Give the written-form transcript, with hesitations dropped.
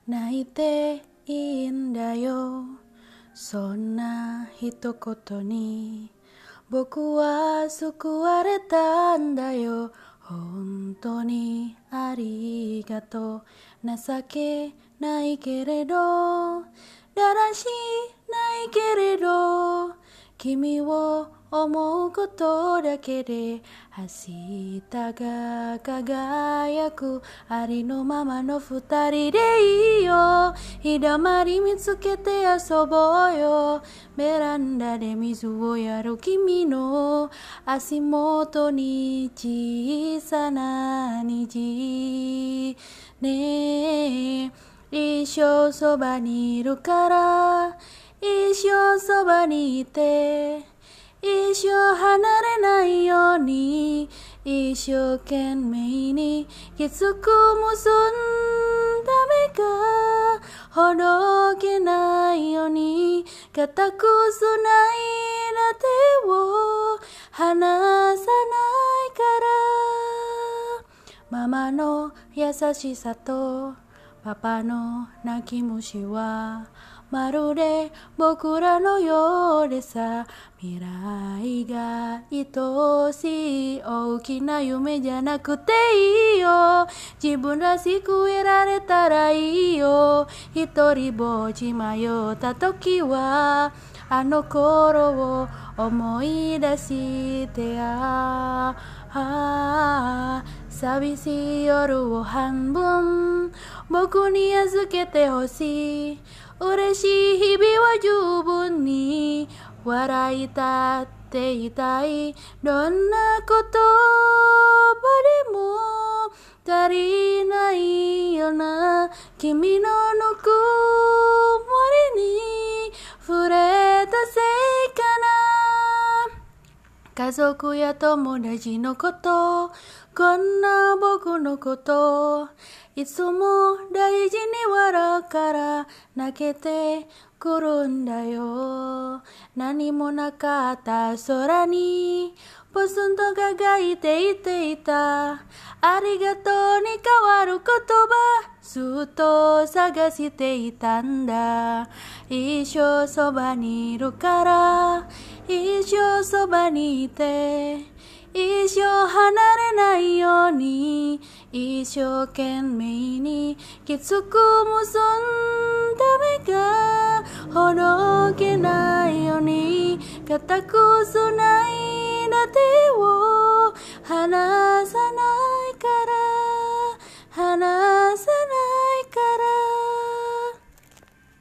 泣いていいんだよ、そんな一言に僕は救われたんだよ。本当にありがとう。情けないけれど、だらしないけれど、君を思うことだけで明日が輝く。ありのままの二人でいいよ。日だまり見つけて遊ぼうよ。ベランダで水をやる君の足元に小さな虹ねえ、一生そばにいるから、一生そばにいて、一生離れないように一生懸命にきつく結んだ目がほどけないように固くつないだ手を離さないから。ママの優しさとパパの泣き虫はまるで僕らのようでさ、未来が愛しい大きな夢じゃなくていいよ。自分らしくいられたらいいよ。一人ぼっち迷った時はあの頃を思い出して寂しい夜を半分僕に預けてほしい。嬉しい日々は十分に笑いたっていたい。どんな言葉でも足りないよな。君のぬくもりに触れたせいかな。家族や友達のこと、こんな僕のこといつも大事に笑うから泣けてくるんだよ。何もなかった空にポツンと輝いていた。ありがとうに変わる言葉ずっと探していたんだ。一生そばにいるから一生そばにいて、一生離れないように一生懸命にきつく結んだ目がほどけないように固くつないだ手を離さないから